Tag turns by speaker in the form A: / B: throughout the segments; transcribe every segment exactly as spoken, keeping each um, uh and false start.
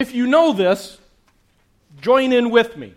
A: if you know this, join in with me.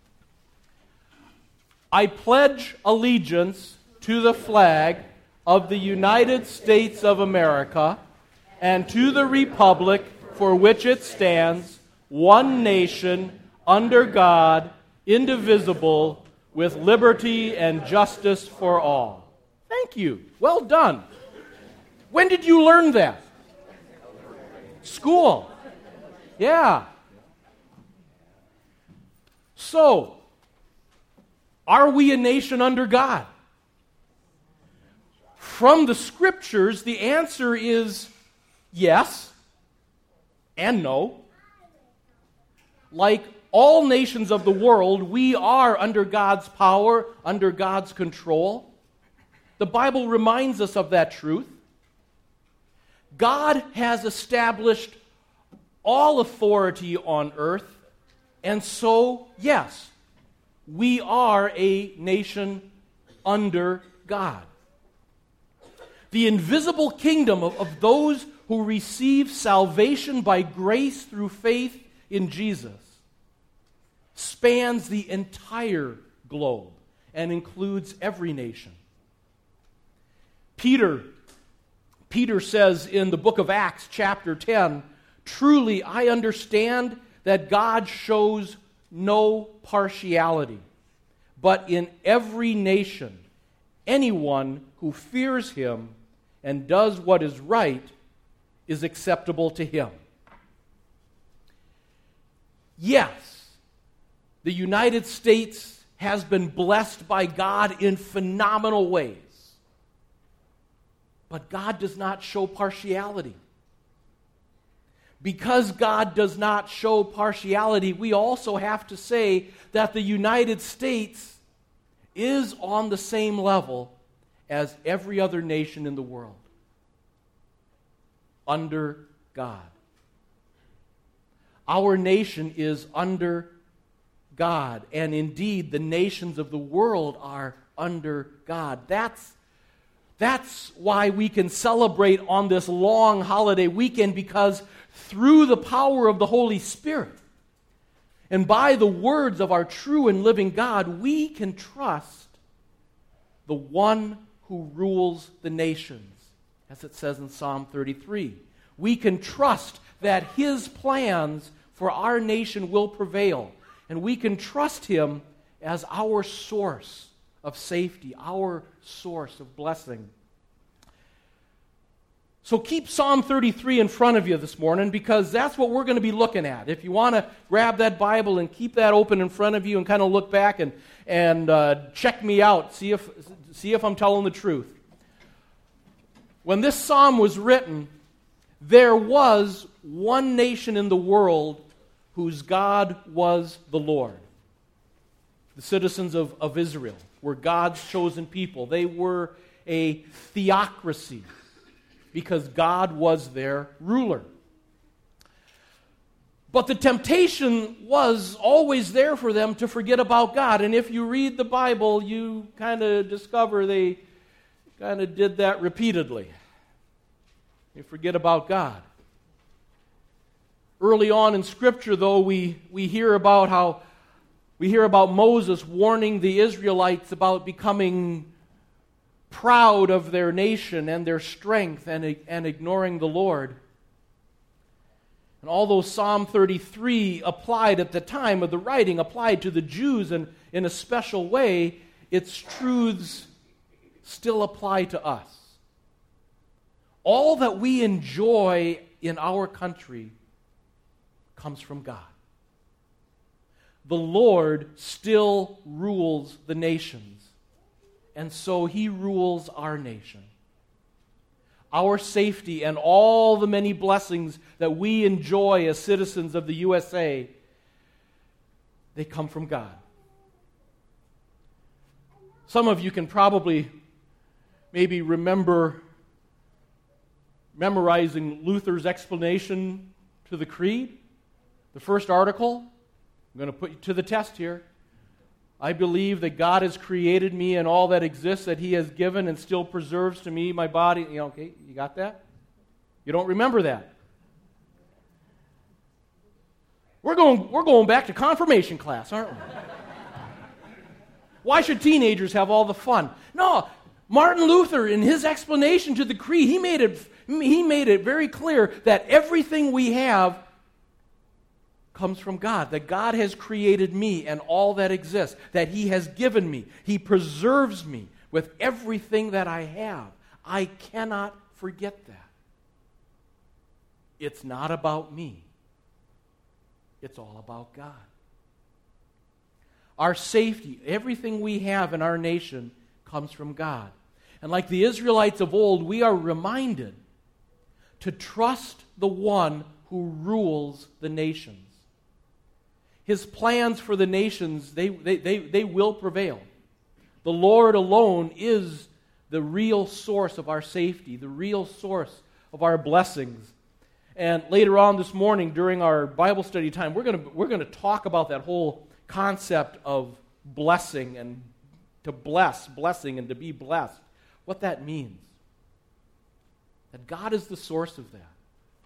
A: I pledge allegiance to the flag of the United States of America and to the republic for which it stands, one nation, under God, indivisible, with liberty and justice for all. Thank you. Well done. When did you learn that? School. Yeah. So, are we a nation under God? From the Scriptures, the answer is yes and no. Like all nations of the world, we are under God's power, under God's control. The Bible reminds us of that truth. God has established all authority on earth, and so, yes, we are a nation under God. The invisible kingdom of, of those who receive salvation by grace through faith in Jesus spans the entire globe and includes every nation. Peter, Peter says in the book of Acts, chapter ten, "Truly I understand that God shows no partiality, but in every nation, anyone who fears Him and does what is right is acceptable to Him." Yes, the United States has been blessed by God in phenomenal ways. But God does not show partiality. Because God does not show partiality, we also have to say that the United States is on the same level as every other nation in the world. Under God. Our nation is under God, and indeed the nations of the world are under God. That's That's why we can celebrate on this long holiday weekend, because through the power of the Holy Spirit and by the words of our true and living God, we can trust the one who rules the nations, as it says in Psalm thirty-three. We can trust that His plans for our nation will prevail, and we can trust Him as our source of safety, our source of blessing. So keep Psalm thirty-three in front of you this morning, because that's what we're going to be looking at. If you want to grab that Bible and keep that open in front of you and kind of look back and, and uh, check me out, see if, see if I'm telling the truth. When this psalm was written, there was one nation in the world whose God was the Lord. The citizens of, of Israel were God's chosen people. They were a theocracy because God was their ruler. But the temptation was always there for them to forget about God. And if you read the Bible, you kind of discover they kind of did that repeatedly. They forget about God. Early on in Scripture, though, we, we hear about how we hear about Moses warning the Israelites about becoming proud of their nation and their strength and, and ignoring the Lord. And although Psalm thirty-three applied at the time of the writing, applied to the Jews in, in a special way, its truths still apply to us. All that we enjoy in our country comes from God. The Lord still rules the nations, and so He rules our nation. Our safety and all the many blessings that we enjoy as citizens of the U S A, they come from God. Some of you can probably maybe remember memorizing Luther's explanation to the Creed. The first article, I'm going to put you to the test here. I believe that God has created me and all that exists, that He has given and still preserves to me my body. You know, okay, you got that? You don't remember that? We're going, we're going back to confirmation class, aren't we? Why should teenagers have all the fun? No, Martin Luther, in his explanation to the creed, he made it, he made it very clear that everything we have comes from God, that God has created me and all that exists, that He has given me. He preserves me with everything that I have. I cannot forget that. It's not about me. It's all about God. Our safety, everything we have in our nation comes from God. And like the Israelites of old, we are reminded to trust the one who rules the nations. His plans for the nations, they, they, they, they will prevail. The Lord alone is the real source of our safety, the real source of our blessings. And later on this morning, during our Bible study time, we're going to we're going to talk about that whole concept of blessing and to bless, blessing and to be blessed. What that means. That God is the source of that.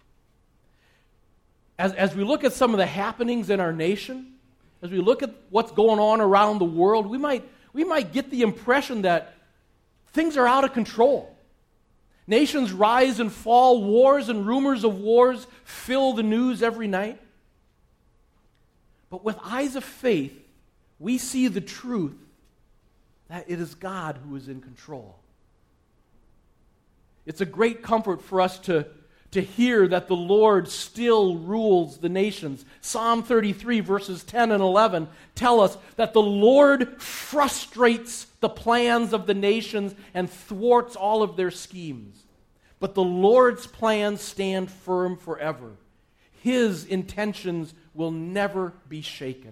A: As, as we look at some of the happenings in our nation, as we look at what's going on around the world, we might, we might get the impression that things are out of control. Nations rise and fall, wars and rumors of wars fill the news every night. But with eyes of faith, we see the truth that it is God who is in control. It's a great comfort for us to, to hear that the Lord still rules the nations. Psalm thirty-three, verses ten and eleven tell us that the Lord frustrates the plans of the nations and thwarts all of their schemes. But the Lord's plans stand firm forever. His intentions will never be shaken.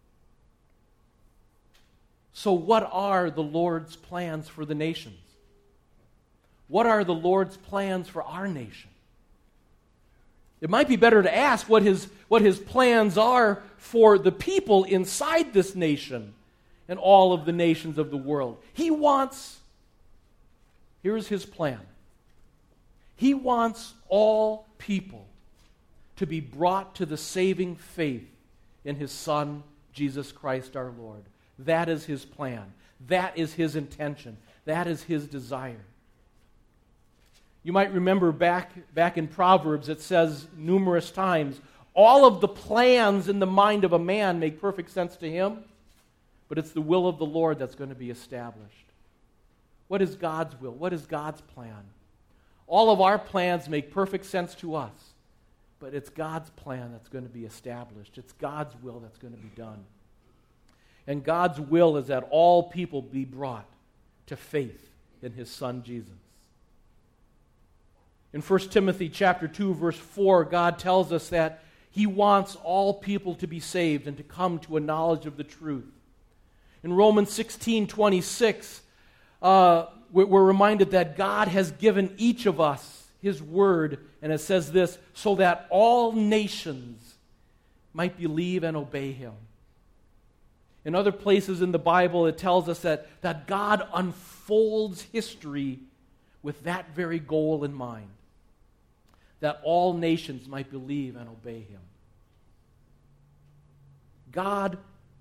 A: So what are the Lord's plans for the nations? What are the Lord's plans for our nation? It might be better to ask what his, what his plans are for the people inside this nation and all of the nations of the world. He wants, here's his plan. He wants all people to be brought to the saving faith in His Son, Jesus Christ our Lord. That is His plan. That is His intention. That is His desire. You might remember back, back in Proverbs, it says numerous times, all of the plans in the mind of a man make perfect sense to him, but it's the will of the Lord that's going to be established. What is God's will? What is God's plan? All of our plans make perfect sense to us, but it's God's plan that's going to be established. It's God's will that's going to be done. And God's will is that all people be brought to faith in His Son Jesus. In First Timothy chapter two, verse four, God tells us that He wants all people to be saved and to come to a knowledge of the truth. In Romans sixteen twenty-six, uh, we're reminded that God has given each of us His word, and it says this, so that all nations might believe and obey Him. In other places in the Bible, it tells us that, that God unfolds history with that very goal in mind, that all nations might believe and obey Him. God,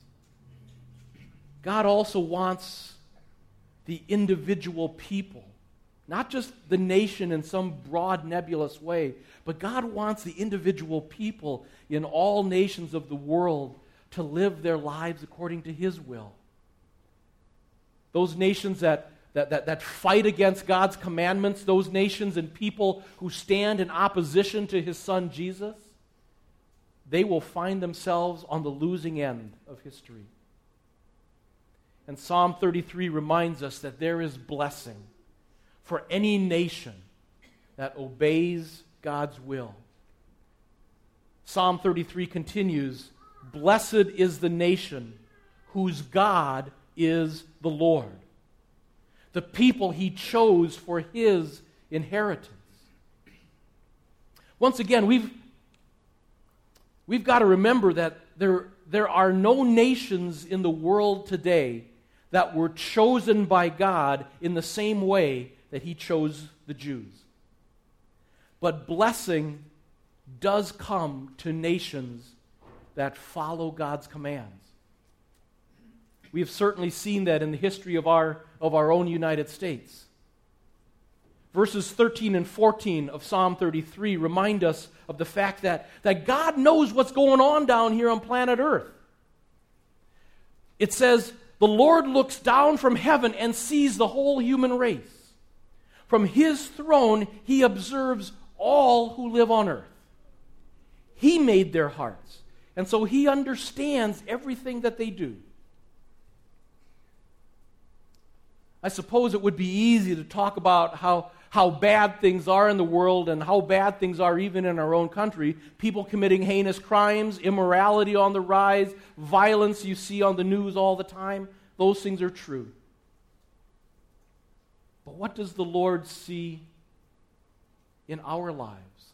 A: God also wants the individual people, not just the nation in some broad, nebulous way, but God wants the individual people in all nations of the world to live their lives according to His will. Those nations that, that, that, that fight against God's commandments, those nations and people who stand in opposition to His Son Jesus, they will find themselves on the losing end of history. And Psalm thirty-three reminds us that there is blessing for any nation that obeys God's will. Psalm thirty-three continues, blessed is the nation whose God is the Lord, the people He chose for His inheritance. Once again, we've, we've got to remember that there, there are no nations in the world today that were chosen by God in the same way that He chose the Jews. But blessing does come to nations that follow God's commands. We have certainly seen that in the history of our, of our own United States. Verses thirteen and fourteen of Psalm thirty-three remind us of the fact that, that God knows what's going on down here on planet Earth. It says, "The Lord looks down from heaven and sees the whole human race. From his throne he observes all who live on earth. He made their hearts, and so he understands everything that they do." I suppose it would be easy to talk about how, how bad things are in the world and how bad things are even in our own country. People committing heinous crimes, immorality on the rise, violence you see on the news all the time. Those things are true. But what does the Lord see in our lives?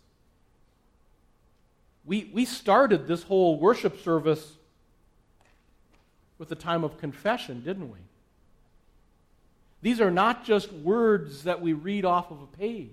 A: We, we started this whole worship service with a time of confession, didn't we? These are not just words that we read off of a page,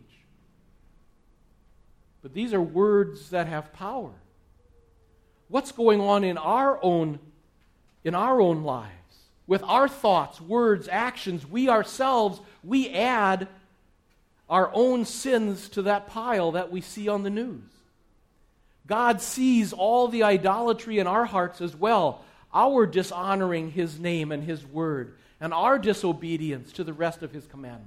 A: but these are words that have power. What's going on in our own, in our own lives? With our thoughts, words, actions, we ourselves, we add our own sins to that pile that we see on the news. God sees all the idolatry in our hearts as well, our dishonoring His name and His word, and our disobedience to the rest of His commandments.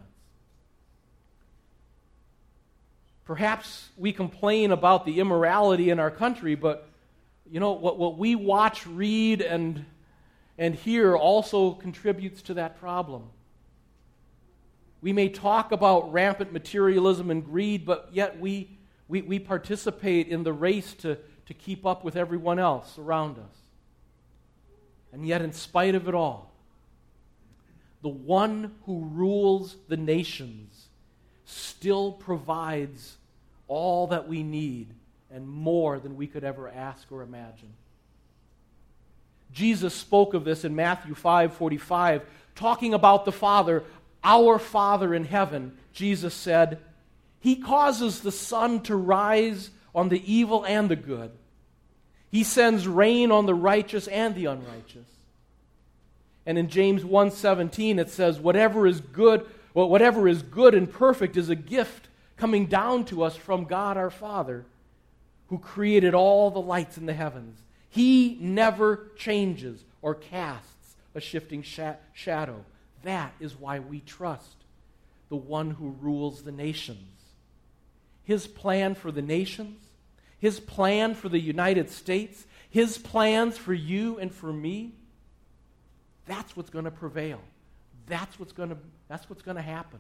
A: Perhaps we complain about the immorality in our country, but you know what, what we watch, read, and, and hear also contributes to that problem. We may talk about rampant materialism and greed, but yet we, we, we participate in the race to, to keep up with everyone else around us. And yet, in spite of it all, the one who rules the nations still provides all that we need and more than we could ever ask or imagine. Jesus spoke of this in Matthew five forty-five, talking about the Father, our Father in heaven. Jesus said, "He causes the sun to rise on the evil and the good. He sends rain on the righteous and the unrighteous." And in James one seventeen it says, whatever is good, well, whatever is good and perfect is a gift coming down to us from God our Father, who created all the lights in the heavens. He never changes or casts a shifting sh- shadow. That is why we trust the one who rules the nations. His plan for the nations, His plan for the United States, His plans for you and for me, that's what's going to prevail. That's what's going to, that's what's going to happen.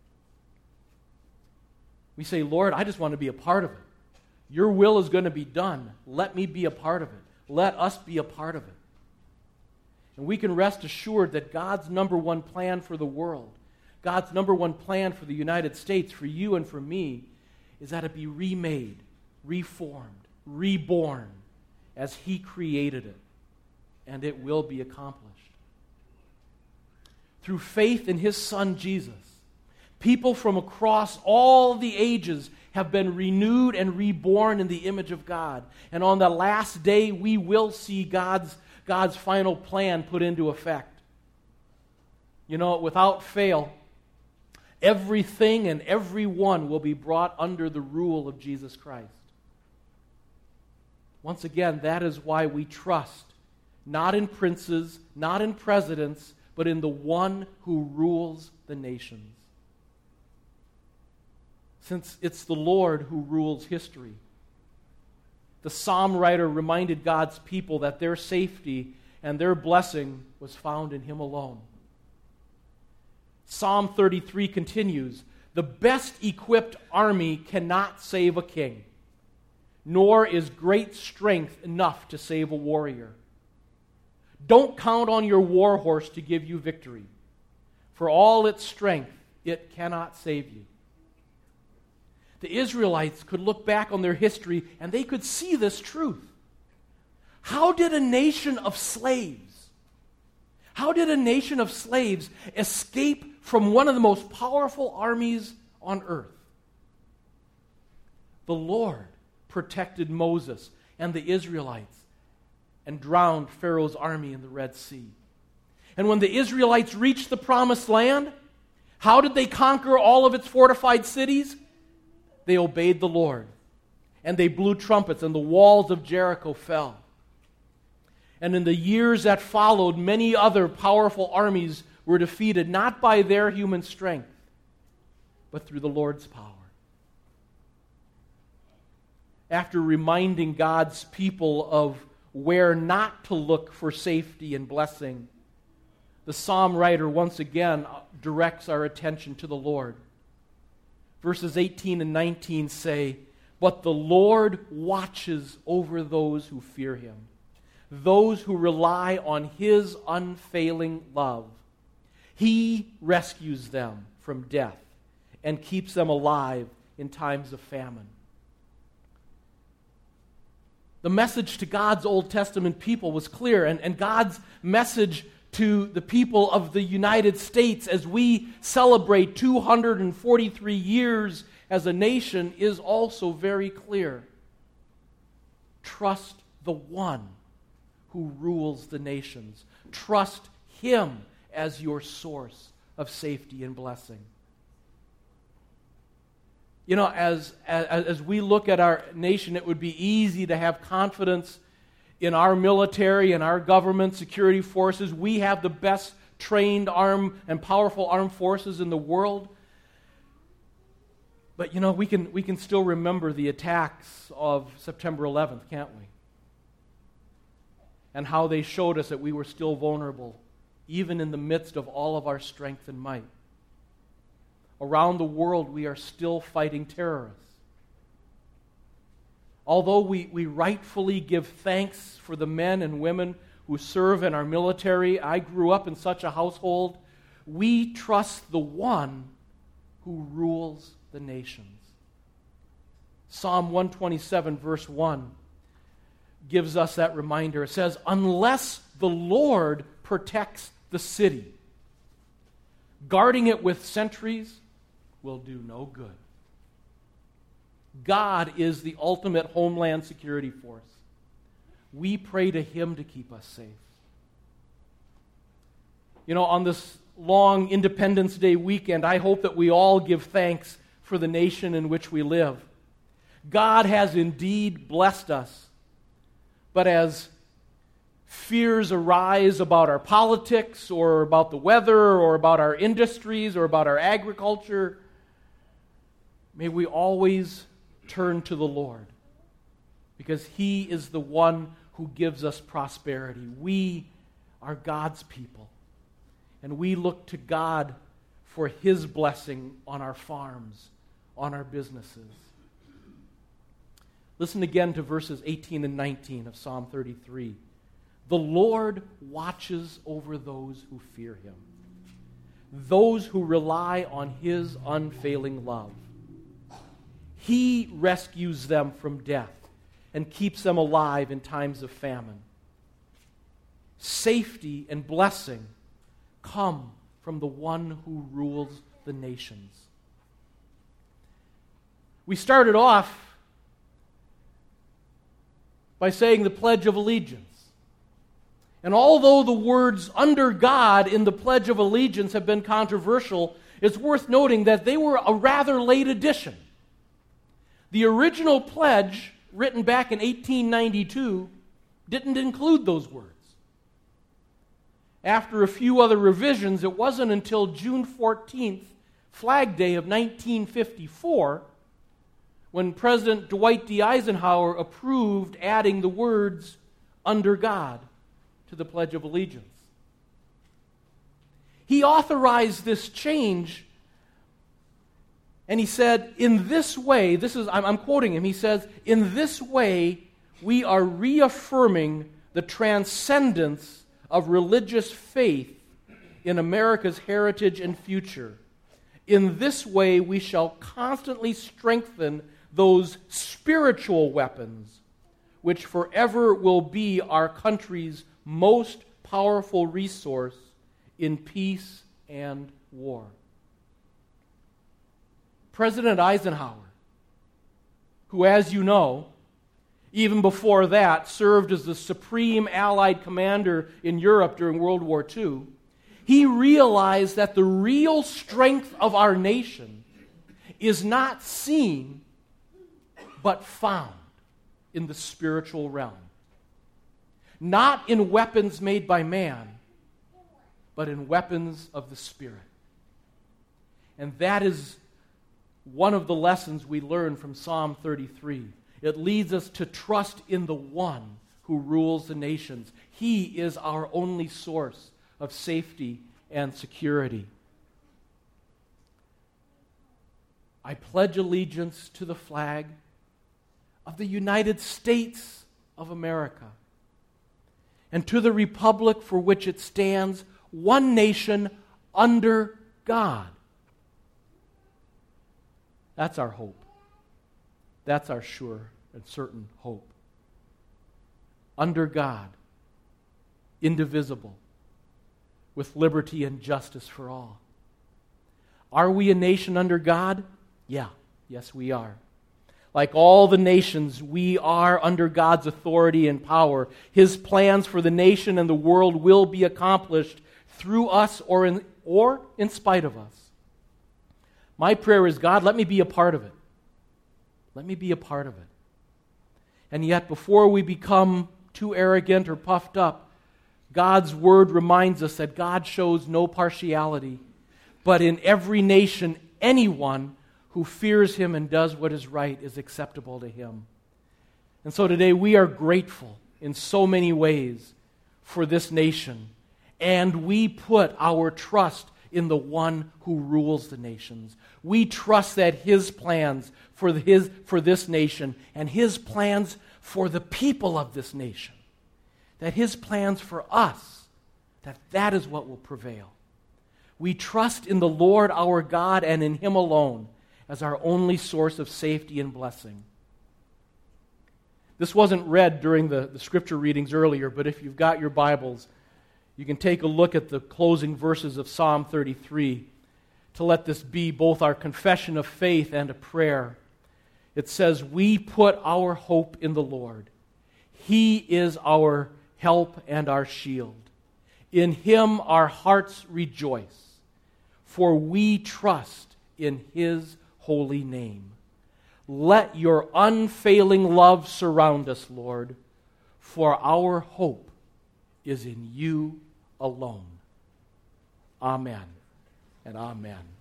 A: We say, Lord, I just want to be a part of it. Your will is going to be done. Let me be a part of it. Let us be a part of it. And we can rest assured that God's number one plan for the world, God's number one plan for the United States, for you and for me, is that it be remade, reformed, reborn as He created it. And it will be accomplished. Through faith in His Son Jesus, people from across all the ages have been renewed and reborn in the image of God. And on the last day, we will see God's, God's final plan put into effect. You know, without fail, everything and everyone will be brought under the rule of Jesus Christ. Once again, that is why we trust, not in princes, not in presidents, but in the one who rules the nations. Since it's the Lord who rules history. The psalm writer reminded God's people that their safety and their blessing was found in Him alone. Psalm thirty-three continues, "The best equipped army cannot save a king, nor is great strength enough to save a warrior. Don't count on your war horse to give you victory. For all its strength, it cannot save you." The Israelites could look back on their history and they could see this truth. How did a nation of slaves, how did a nation of slaves escape from one of the most powerful armies on earth? The Lord protected Moses and the Israelites and drowned Pharaoh's army in the Red Sea. And when the Israelites reached the promised land, how did they conquer all of its fortified cities? They obeyed the Lord. And they blew trumpets, and the walls of Jericho fell. And in the years that followed, many other powerful armies were defeated, not by their human strength, but through the Lord's power. After reminding God's people of where not to look for safety and blessing, the psalm writer once again directs our attention to the Lord. Verses eighteen and nineteen say, "But the Lord watches over those who fear Him, those who rely on His unfailing love. He rescues them from death and keeps them alive in times of famine." The message to God's Old Testament people was clear, and, and God's message to the people of the United States as we celebrate two hundred forty-three years as a nation is also very clear. Trust the one who rules the nations. Trust Him as your source of safety and blessing. You know, as, as, as we look at our nation, it would be easy to have confidence in our military and our government security forces. We have the best trained armed and powerful armed forces in the world. But you know, we can we can still remember the attacks of September eleventh, can't we? And how they showed us that we were still vulnerable, even in the midst of all of our strength and might. Around the world, we are still fighting terrorists. Although we, we rightfully give thanks for the men and women who serve in our military, I grew up in such a household, we trust the one who rules the nations. Psalm one twenty-seven, verse one, gives us that reminder. It says, "Unless the Lord protects the city, guarding it with sentries will do no good." God is the ultimate homeland security force. We pray to Him to keep us safe. You know, on this long Independence Day weekend, I hope that we all give thanks for the nation in which we live. God has indeed blessed us. But as fears arise about our politics or about the weather or about our industries or about our agriculture, may we always turn to the Lord, because He is the one who gives us prosperity. We are God's people, and we look to God for His blessing on our farms, on our businesses. Listen again to verses eighteen and nineteen of Psalm thirty-three. "The Lord watches over those who fear Him, those who rely on His unfailing love. He rescues them from death and keeps them alive in times of famine." Safety and blessing come from the one who rules the nations. We started off by saying the Pledge of Allegiance. And although the words "under God" in the Pledge of Allegiance have been controversial, it's worth noting that they were a rather late addition. The original pledge, written back in eighteen ninety-two, didn't include those words. After a few other revisions, it wasn't until June fourteenth, Flag Day of nineteen fifty-four, when President Dwight D. Eisenhower approved adding the words "under God" to the Pledge of Allegiance. He authorized this change, and he said, in this way, this is, I'm, I'm quoting him, he says, "In this way, we are reaffirming the transcendence of religious faith in America's heritage and future. In this way, we shall constantly strengthen those spiritual weapons which forever will be our country's most powerful resource in peace and war." President Eisenhower, who, as you know, even before that, served as the supreme Allied commander in Europe during World War Two, he realized that the real strength of our nation is not seen, but found in the spiritual realm. Not in weapons made by man, but in weapons of the Spirit. And that is one of the lessons we learn from Psalm thirty-three. It leads us to trust in the one who rules the nations. He is our only source of safety and security. I pledge allegiance to the flag of the United States of America and to the republic for which it stands, one nation under God. That's our hope. That's our sure and certain hope. Under God, indivisible, with liberty and justice for all. Are we a nation under God? Yeah, yes we are. Like all the nations, we are under God's authority and power. His plans for the nation and the world will be accomplished through us or in, or in spite of us. My prayer is, God, let me be a part of it. Let me be a part of it. And yet, before we become too arrogant or puffed up, God's word reminds us that God shows no partiality, but in every nation, anyone who fears Him and does what is right is acceptable to Him. And so today we are grateful in so many ways for this nation, and we put our trust in the one who rules the nations. We trust that His plans for, his, for this nation and His plans for the people of this nation, that His plans for us, that that is what will prevail. We trust in the Lord our God and in Him alone as our only source of safety and blessing. This wasn't read during the, the scripture readings earlier, but if you've got your Bibles, you can take a look at the closing verses of Psalm thirty-three to let this be both our confession of faith and a prayer. It says, "We put our hope in the Lord. He is our help and our shield. In Him our hearts rejoice, for we trust in His holy name. Let your unfailing love surround us, Lord, for our hope is in You alone." Amen and amen.